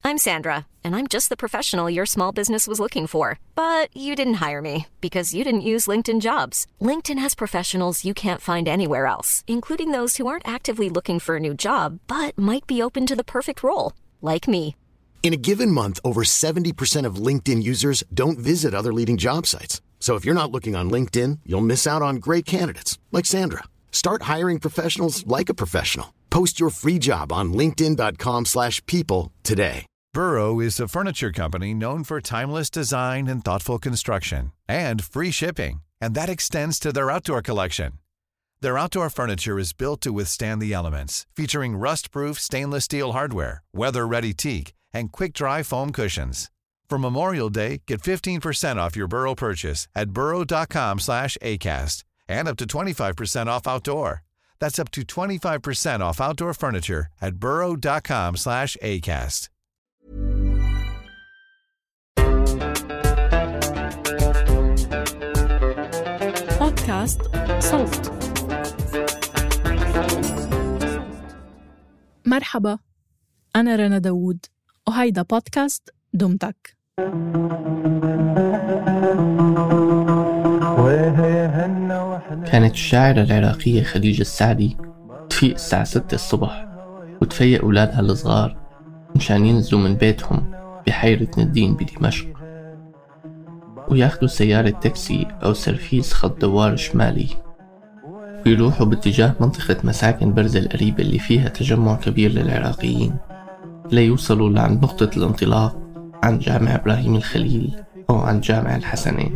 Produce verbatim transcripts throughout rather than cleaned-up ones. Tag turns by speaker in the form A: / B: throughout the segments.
A: I'm Sandra, and I'm just the professional your small business was looking for. But you didn't hire me because you didn't use LinkedIn Jobs. LinkedIn has professionals you can't find anywhere else, including those who aren't actively looking for a new job, but might be open to the perfect role, like me.
B: In a given month, over seventy percent of LinkedIn users don't visit other leading job sites. So if you're not looking on LinkedIn, you'll miss out on great candidates like Sandra. Start hiring professionals like a professional. Post your free job on linkedin dot com slash people today.
C: Burrow is a furniture company known for timeless design and thoughtful construction and free shipping, and that extends to their outdoor collection. Their outdoor furniture is built to withstand the elements, featuring rust-proof stainless steel hardware, weather-ready teak, and quick-dry foam cushions. For Memorial Day, get fifteen percent off your Burrow purchase at burrow dot com slash acast and up to twenty-five percent off outdoor. That's up to twenty-five percent off outdoor furniture at burrow dot com slash acast.
D: بودكاست صوت. مرحبا، أنا رنا داوود وهيدا بودكاست دمتك.
E: كانت الشاعرة العراقية خديجة السعدي تفيق الساعة ستة الصبح وتفيق أولادها الصغار مشان ينزلوا من بيتهم بحيرة ندين بدمشق وياخدوا سيارة تاكسي أو سرفيس خط دوار شمالي ويروحوا باتجاه منطقة مساكن برزة القريبة اللي فيها تجمع كبير للعراقيين ليوصلوا لعند نقطة الانطلاق عن جامع إبراهيم الخليل أو عن جامع الحسنين.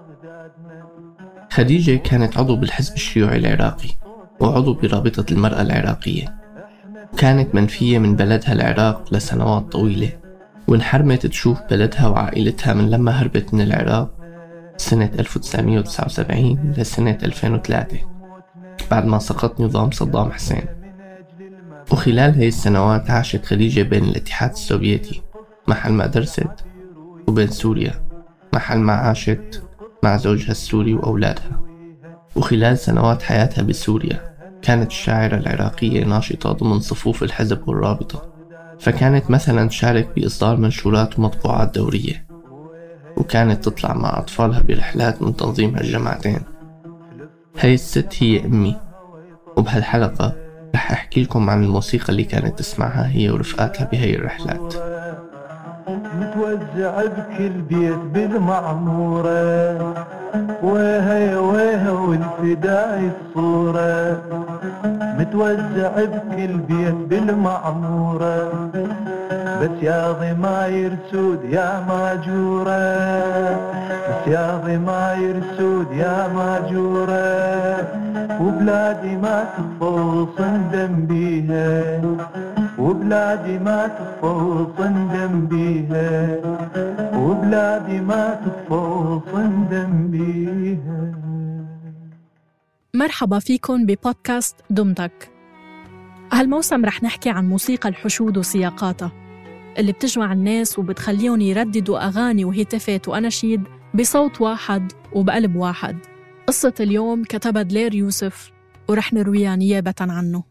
E: خديجة كانت عضو بالحزب الشيوعي العراقي وعضو برابطة المرأة العراقية. كانت منفية من بلدها العراق لسنوات طويلة وانحرمت تشوف بلدها وعائلتها من لما هربت من العراق سنة ألف وتسعمية وتسعة وسبعين لسنة ألفين وثلاثة بعد ما سقط نظام صدام حسين. وخلال هاي السنوات عاشت خديجة بين الاتحاد السوفيتي محل ما درست وبين سوريا محل ما عاشت مع زوجها السوري وأولادها. وخلال سنوات حياتها بسوريا كانت الشاعرة العراقية ناشطة ضمن صفوف الحزب والرابطة، فكانت مثلا تشارك بإصدار منشورات ومطبوعات دورية، وكانت تطلع مع أطفالها برحلات من تنظيم هالجماعتين. هاي الست هي أمي، وبهالحلقة رح أحكي لكم عن الموسيقى اللي كانت تسمعها هي ورفقاتها بهاي الرحلات.
F: متوزع بكل بيت بالمعمورة وهي وهي والفداء الصورة متوزع بكل بيت بالمعمورة بس يا ضماير سود يا ماجورة بس يا ضماير سود يا ماجورة وبلادي ما تفوص ندم بيها وبلادي ما تفوص ندم بيها وبلادي ما تفوص ندم بيها.
D: مرحبا فيكن ببودكاست دمتك. هالموسم رح نحكي عن موسيقى الحشود وسياقاتها اللي بتجمع الناس وبتخليهم يرددوا أغاني وهتافات وأناشيد بصوت واحد وبقلب واحد. قصة اليوم كتبها دلير يوسف ورح نرويها نيابة عنه.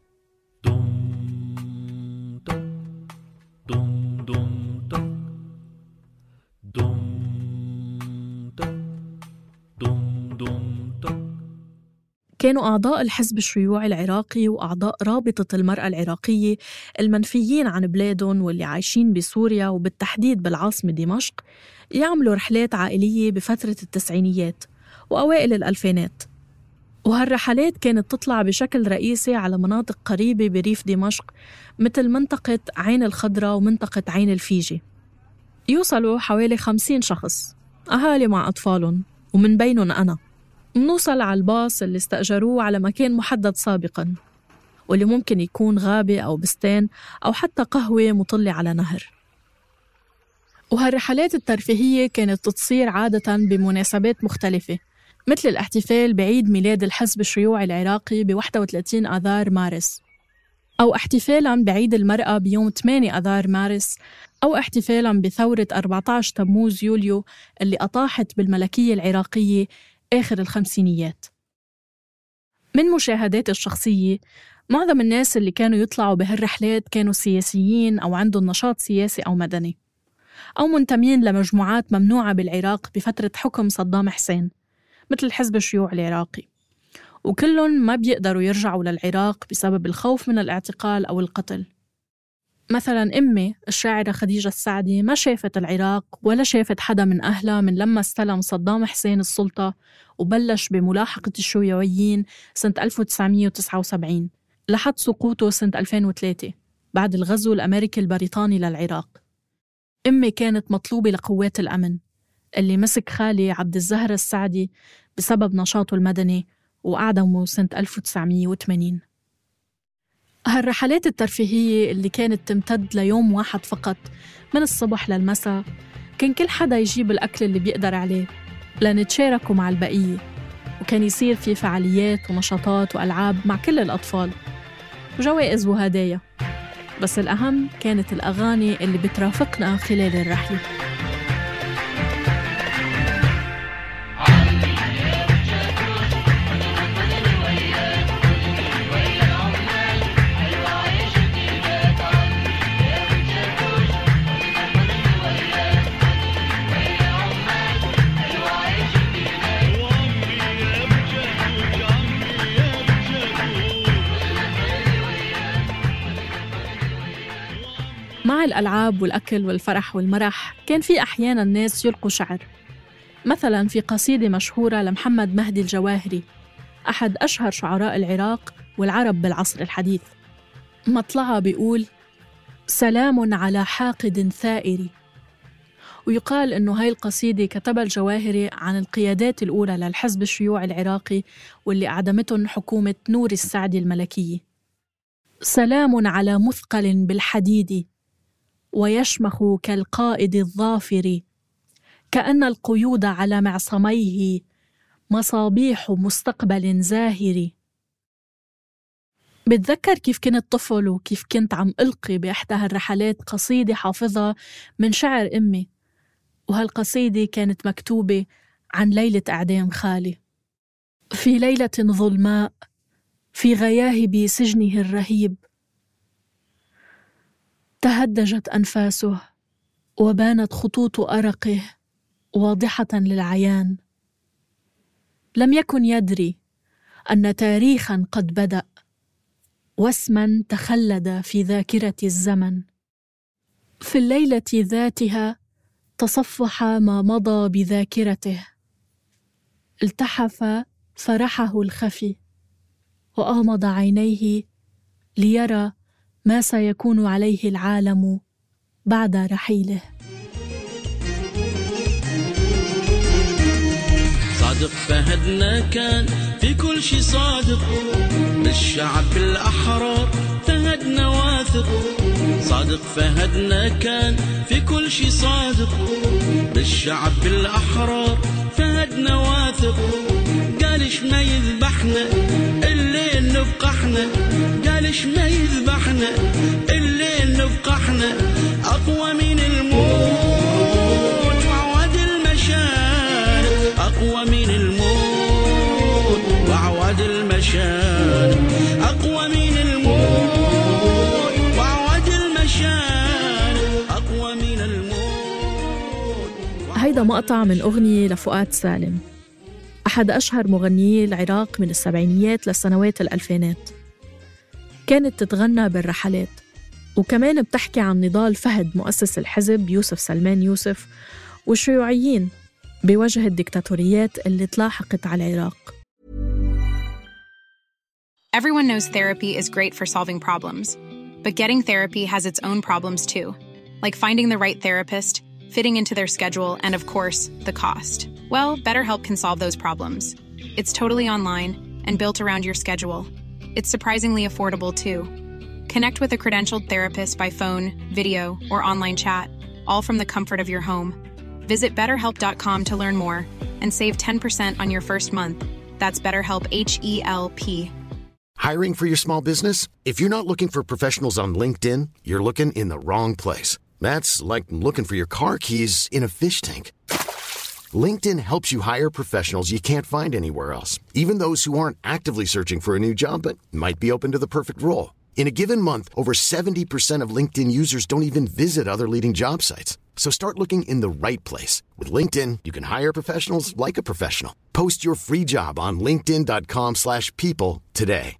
D: كانوا أعضاء الحزب الشيوعي العراقي وأعضاء رابطة المرأة العراقية المنفيين عن بلادهم واللي عايشين بسوريا وبالتحديد بالعاصمة دمشق يعملوا رحلات عائلية بفترة التسعينيات وأوائل الألفينات، وهالرحلات كانت تطلع بشكل رئيسي على مناطق قريبة بريف دمشق مثل منطقة عين الخضراء ومنطقة عين الفيجي. يوصلوا حوالي خمسين شخص أهالي مع أطفالهم ومن بينهم أنا. منوصل على الباص اللي استأجروه على مكان محدد سابقاً واللي ممكن يكون غابة أو بستان أو حتى قهوة مطلة على نهر. وهالرحلات الترفيهية كانت تصير عادة بمناسبات مختلفة مثل الاحتفال بعيد ميلاد الحزب الشيوعي العراقي ب واحد وثلاثين آذار مارس، أو احتفالاً بعيد المرأة بيوم ثمانية آذار مارس، أو احتفالاً بثورة أربعة عشر تموز يوليو اللي أطاحت بالملكية العراقية آخر الخمسينيات. من مشاهدات الشخصية معظم الناس اللي كانوا يطلعوا بهالرحلات كانوا سياسيين أو عندهم نشاط سياسي أو مدني، أو منتمين لمجموعات ممنوعة بالعراق بفترة حكم صدام حسين مثل حزب الشيوع العراقي، وكلهم ما بيقدروا يرجعوا للعراق بسبب الخوف من الاعتقال أو القتل. مثلاً أمي الشاعرة خديجة السعدي ما شافت العراق ولا شافت حدا من أهلها من لما استلم صدام حسين السلطة وبلش بملاحقة الشيوعيين سنة ألف وتسعمية وتسعة وسبعين لحد سقوطه سنة ألفين وثلاثة بعد الغزو الأمريكي البريطاني للعراق. أمي كانت مطلوبة لقوات الأمن اللي مسك خالي عبد الزهر السعدي بسبب نشاطه المدني وأعدمه سنة ألف وتسعمية وثمانين. هالرحلات الترفيهية اللي كانت تمتد ليوم واحد فقط من الصبح للمساء، كان كل حدا يجيب الأكل اللي بيقدر عليه لنتشاركه مع البقية، وكان يصير في فعاليات ونشاطات وألعاب مع كل الأطفال وجوائز وهدايا، بس الأهم كانت الأغاني اللي بترافقنا خلال الرحلة. مع الألعاب والأكل والفرح والمرح كان في أحياناً ناس يلقوا شعر، مثلاً في قصيدة مشهورة لمحمد مهدي الجواهري أحد أشهر شعراء العراق والعرب بالعصر الحديث. مطلعها بيقول: سلام على حاقد ثائر. ويقال إنه هاي القصيدة كتبها الجواهري عن القيادات الأولى للحزب الشيوعي العراقي واللي أعدمتهم حكومة نور السعدي الملكية. سلام على مثقل بالحديد ويشمخ كالقائد الظافر، كأن القيود على معصميه مصابيح مستقبل زاهر. بتذكر كيف كنت طفل وكيف كنت عم ألقي بإحدى هالرحلات قصيدة حافظها من شعر أمي، وهالقصيدة كانت مكتوبة عن ليلة إعدام خالي. في ليلة ظلماء في غياهب سجنه الرهيب تهدجت أنفاسه وبانت خطوط أرقه واضحة للعيان. لم يكن يدري أن تاريخاً قد بدأ واسماً تخلد في ذاكرة الزمن. في الليلة ذاتها تصفح ما مضى بذاكرته، التحف فرحه الخفي وأغمض عينيه ليرى ما سيكون عليه العالم بعد رحيله.
G: صادق فهدنا كان في كل شي صادق، بالشعب الأحرار فهدنا واثق. صادق فهدنا كان في كل شي صادق، بالشعب الأحرار فهدنا واثق. قالش ما يذبحنا الليل نبقى احنا، قالش ما يذبحنا الليل نبقى احنا. أقوى من الموت وعواد المشارق، أقوى من الموت وعواد المشارق، أقوى من الموت وعواد المشارق، أقوى من الموت.
D: هيدا مقطع من أغنية لفؤاد سالم، أحد أشهر مغنيي العراق من السبعينيات للسنوات الألفينات. كانت تتغنى بالرحلات، وكمان بتحكي عن نضال فهد مؤسس الحزب يوسف سلمان يوسف والشيوعيين بوجه الدكتاتوريات اللي تلاحقت على العراق.
H: Everyone knows therapy is great for solving problems, but getting therapy has its own problems too, like finding the right therapist, fitting into their schedule, and of course, the cost. Well, BetterHelp can solve those problems. It's totally online and built around your schedule. It's surprisingly affordable too. Connect with a credentialed therapist by phone, video, or online chat, all from the comfort of your home. Visit better help dot com to learn more and save ten percent on your first month. That's BetterHelp, H E L P.
B: Hiring for your small business? If you're not looking for professionals on LinkedIn, you're looking in the wrong place. That's like looking for your car keys in a fish tank. LinkedIn helps you hire professionals you can't find anywhere else, even those who aren't actively searching for a new job but might be open to the perfect role. In a given month, over seventy percent of LinkedIn users don't even visit other leading job sites. So start looking in the right place. With LinkedIn, you can hire professionals like a professional. Post your free job on linkedin dot com slash people today.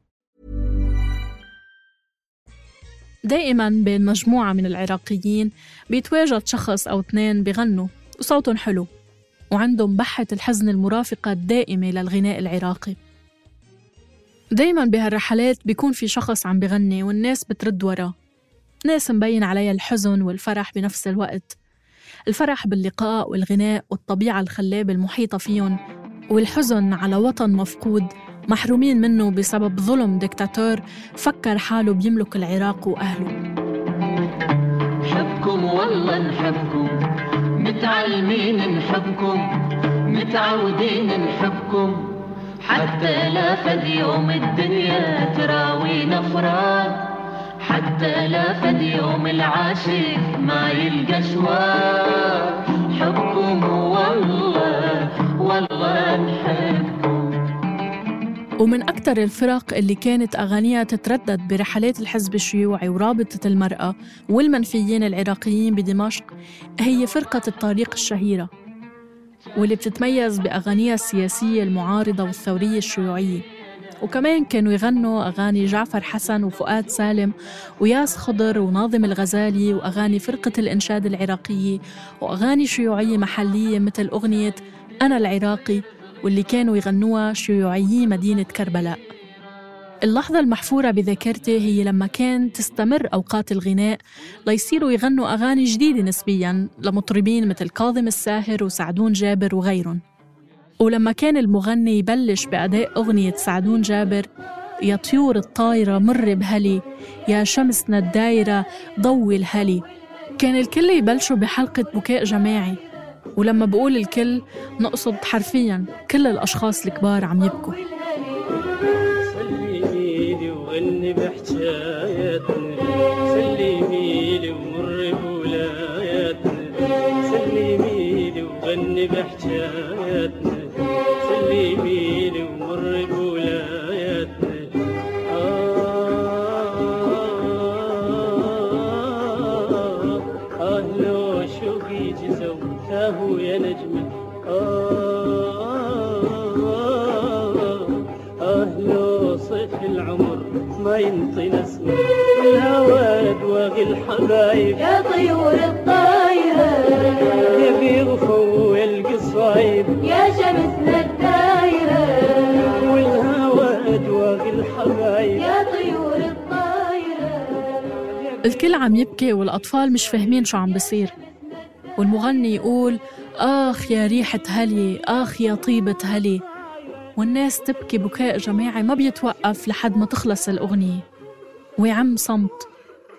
D: دائماً بين مجموعة من العراقيين بيتواجد شخص أو اثنين بيغنوا وصوتهم حلو وعندهم بحة الحزن المرافقة الدائمة للغناء العراقي. دايماً بهالرحلات بيكون في شخص عم بيغني والناس بترد وراه، ناس مبين عليها الحزن والفرح بنفس الوقت، الفرح باللقاء والغناء والطبيعة الخلابة المحيطة فيهم، والحزن على وطن مفقود محرومين منه بسبب ظلم ديكتاتور فكر حاله بيملك العراق وأهله.
I: نحبكم والله نحبكم، متعلمين نحبكم، متعودين نحبكم، حتى لا فد يوم الدنيا تراوينا فراق، حتى لا فد يوم العاشق ما يلقى شواق، حبكم والله والله نحبكم.
D: ومن أكثر الفرق اللي كانت أغانيها تتردد برحلات الحزب الشيوعي ورابطة المرأة والمنفيين العراقيين بدمشق هي فرقة الطريق الشهيرة، واللي بتتميز بأغانيها السياسية المعارضة والثورية الشيوعية. وكمان كانوا يغنوا أغاني جعفر حسن وفؤاد سالم وياس خضر وناظم الغزالي، وأغاني فرقة الإنشاد العراقية، وأغاني شيوعية محلية مثل أغنية أنا العراقي واللي كانوا يغنوها شيوعيي مدينة كربلاء. اللحظة المحفورة بذاكرتي هي لما كان تستمر أوقات الغناء ليصيروا يغنوا أغاني جديدة نسبياً لمطربين مثل كاظم الساهر وسعدون جابر وغيرهم. ولما كان المغني يبلش بأداء أغنية سعدون جابر يا طيور الطايرة مر بهلي، يا شمسنا الدايرة ضوي الهلي، كان الكل يبلشوا بحلقة بكاء جماعي. ولما بقول الكل نقصد حرفياً كل الأشخاص الكبار عم يبكوا.
J: سلميلي وغني بحكاياتنا، سلميلي ومر بولاياتنا، سلميلي وغني بحكاياتنا، سلميلي ومر بولاياتنا. آه آه لو شوقي جزوته يا نجمة، آه آه لو صيف العمر ما ينطي نسمة، والهوى دواغي الحبايب
I: يا طيور الطايرة،
J: يبي غفو القصايب
I: يا شمسنا الدايرة،
J: والهوى دواغي الحبايب
I: يا طيور الطايرة.
D: الكل عم يبكي والأطفال مش فاهمين شو عم بصير، والمغني يقول آخ يا ريحة هلي، آخ يا طيبة هلي، والناس تبكي بكاء جماعي ما بيتوقف لحد ما تخلص الأغنية ويعم صمت.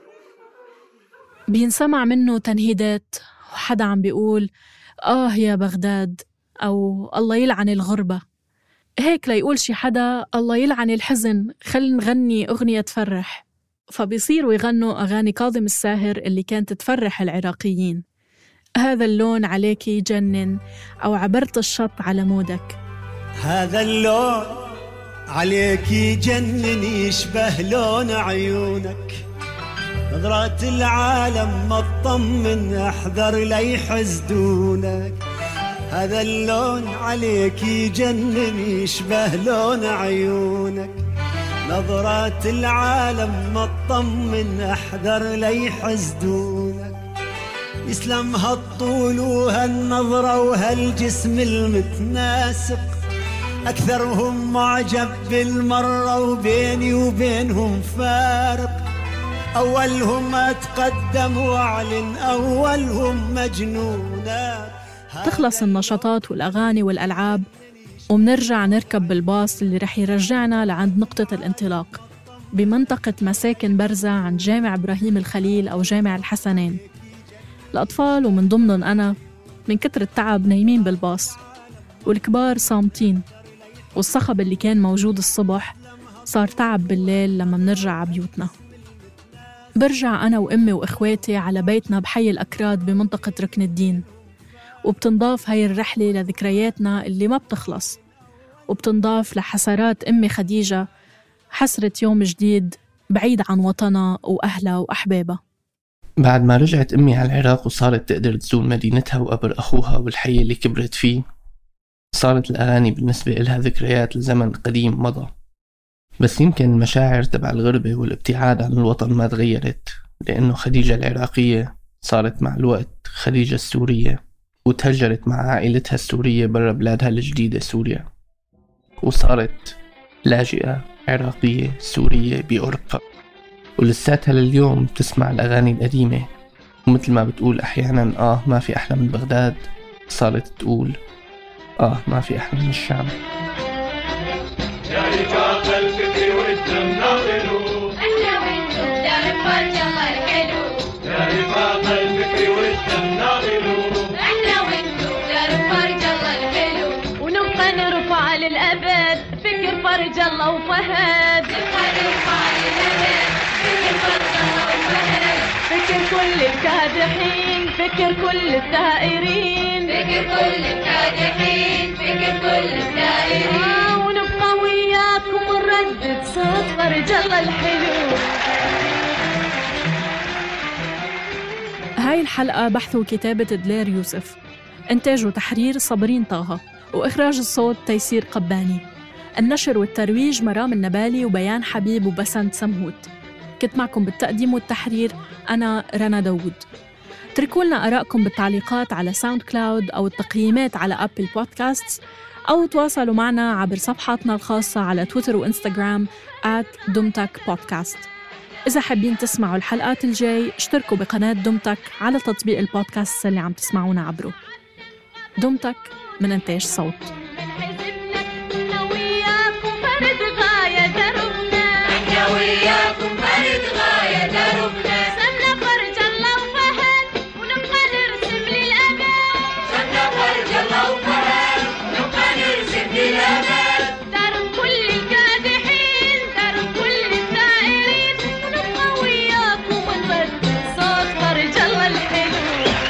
D: بينسمع منه تنهيدات وحدا عم بيقول آه يا بغداد أو الله يلعن الغربة، هيك ليقول شي حدا الله يلعن الحزن خل نغني أغنية تفرح. فبيصيروا يغنوا أغاني كاظم الساهر اللي كانت تفرح العراقيين، هذا اللون عليك يجنن، أو عبرت الشط على مودك.
K: هذا اللون عليك يجنن يشبه لون عيونك، نظرات العالم ما تطمن احذر لي يحسدونك. هذا اللون عليك يجنن يشبه لون عيونك، نظرات العالم ما تطمن احذر لي يحسدونك. يسلم هالطول وهالنظرة وهالجسم المتناسق، أكثرهم معجب بالمرة وبيني وبينهم فارق. أولهم أتقدم وأعلن أولهم مجنونات.
D: تخلص النشاطات والأغاني والألعاب ومنرجع نركب بالباص اللي رح يرجعنا لعند نقطة الانطلاق بمنطقة مساكن برزة عند جامع إبراهيم الخليل أو جامع الحسنين. الأطفال ومن ضمنهم أنا من كتر التعب نايمين بالباص، والكبار صامتين، والصخب اللي كان موجود الصبح صار تعب بالليل لما منرجع عبيوتنا. برجع أنا وأمي وإخواتي على بيتنا بحي الأكراد بمنطقة ركن الدين، وبتنضاف هاي الرحلة لذكرياتنا اللي ما بتخلص، وبتنضاف لحسرات أمي خديجة حسرة يوم جديد بعيد عن وطنها وأهلها وأحبابها.
E: بعد ما رجعت أمي على العراق وصارت تقدر تزور مدينتها وقبر أخوها والحي اللي كبرت فيه، صارت الأغاني بالنسبة إلها ذكريات لزمن قديم مضى. بس يمكن المشاعر تبع الغربة والابتعاد عن الوطن ما تغيرت، لأنه خديجة العراقية صارت مع الوقت خديجة السورية، وتهجرت مع عائلتها السورية برا بلادها الجديدة سوريا، وصارت لاجئة عراقية سورية بأوروبا، ولساتها لليوم تسمع الأغاني القديمة. ومثل ما بتقول أحيانا آه ما في أحلى من بغداد، صارت تقول آه ما في أحلى من الشام.
L: يا رفاق الفكر والدم ناضلوا، احنا وانتو دار فرج الله الحلو. يا رفاق الفكر والدم ناضلوا، احنا وانتو دار فرج الله الحلو. ونبقى نرفع للأبد فكر فرج الله وفهد. نبقى نرفع للأبد فكر فرج الله وفهد. فكر كل الكادحين، فكر كل الثائرين، فكر كل الكادحين، فكر كل الثائرين. ونردد صوت فرج الله الحلو.
D: هاي الحلقة بحث وكتابة دلير يوسف، إنتاج وتحرير صابرين طه، وإخراج الصوت تيسير قباني. النشر والترويج مرام النبالي وبيان حبيب وبسنت سمهوت. كنت معكم بالتقديم والتحرير أنا رنا داود. اتركوا لنا آرائكم بالتعليقات على ساوند كلاود أو التقييمات على أبل بودكاستس، أو تواصلوا معنا عبر صفحاتنا الخاصة على تويتر وإنستغرام آت دومتك بودكاست. إذا حابين تسمعوا الحلقات الجاي اشتركوا بقناة دومتك على تطبيق البودكاست اللي عم تسمعونا عبره. دومتك من إنتاج صوت.
L: وياكم فرد غاية دربنا، سمنا فرج الله وفهد ونبقى نرسم للأمل. سمنا فرج الله وفهد ونبقى نرسم للأمل. درب كل الكادحين، درب كل الثائرين، ونبقى وياكم ونردد صوت فرج الله الحلو.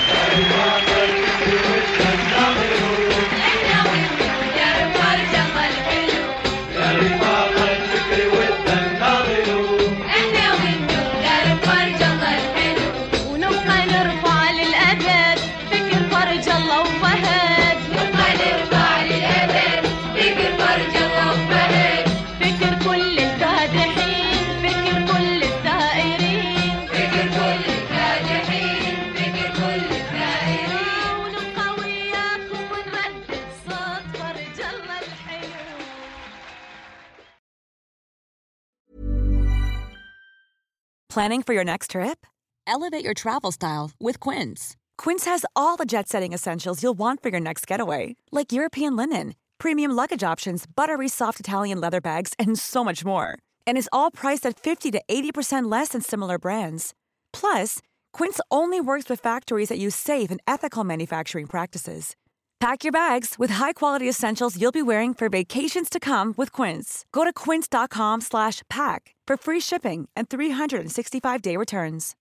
L: احنا وانتو درب فرج الله الحلو. يا رفاق الفكر والدم
M: Planning for your next trip? Elevate your travel style with Quince. Quince has all the jet-setting essentials you'll want for your next getaway, like European linen, premium luggage options, buttery soft Italian leather bags, and so much more. And is all priced at fifty to eighty percent less than similar brands. Plus, Quince only works with factories that use safe and ethical manufacturing practices. Pack your bags with high-quality essentials you'll be wearing for vacations to come with Quince. Go to quince.com slash pack for free shipping and three sixty-five day returns.